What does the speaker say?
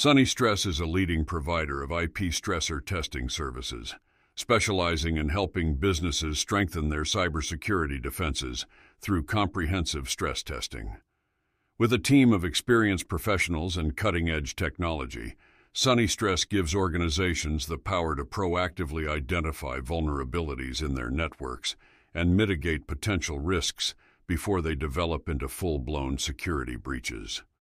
SunnyStress is a leading provider of IP stressor testing services, specializing in helping businesses strengthen their cybersecurity defenses through comprehensive stress testing. With a team of experienced professionals and cutting-edge technology, SunnyStress gives organizations the power to proactively identify vulnerabilities in their networks and mitigate potential risks before they develop into full-blown security breaches.